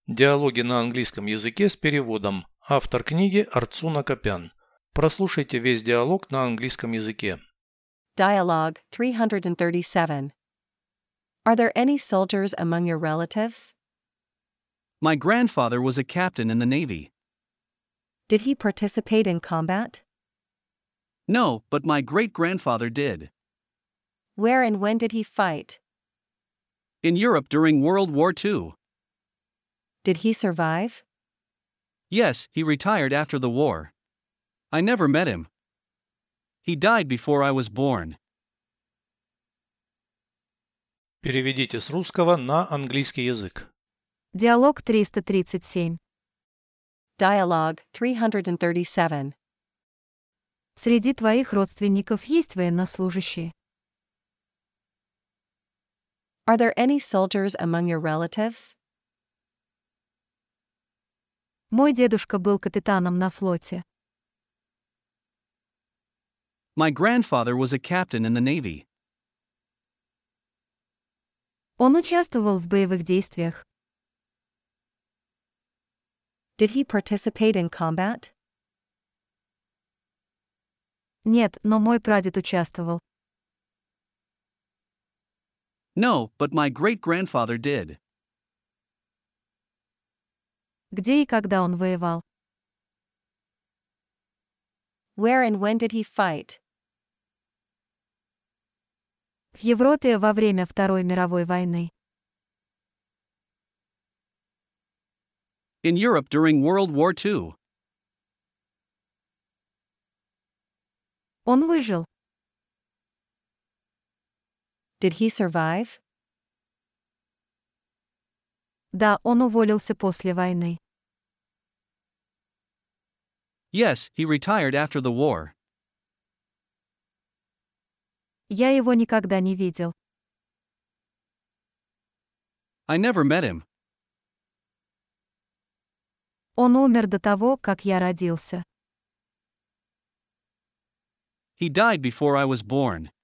Диалоги на английском языке с переводом. Автор книги Арцуна Копян. Прослушайте весь диалог на английском языке. Dialogue 337. Are there any soldiers among your relatives? My grandfather was a captain in the Navy. Did he participate in combat? No, but my great-grandfather did. Where and when did he fight? In Europe during World War II. Did he survive? Yes, he retired after the war. I never met him. He died before I was born. Переведите с русского на английский язык. Диалог 337. Dialogue 337. Среди твоих родственников есть военнослужащие? Are there any soldiers among your relatives? Мой дедушка был капитаном на флоте. My grandfather was a captain in the Navy. Он участвовал в боевых действиях. Did he participate in combat? Нет, но мой прадед участвовал. No, but my great-grandfather did. Где и когда он воевал? Where and when did he fight? В Европе во время Второй мировой войны. In Europe during World War II. Он выжил. Did he survive? Да, он уволился после войны. Yes, he retired after the war. Я его никогда не видел. I never met him. Он умер до того, как я родился. He died before I was born.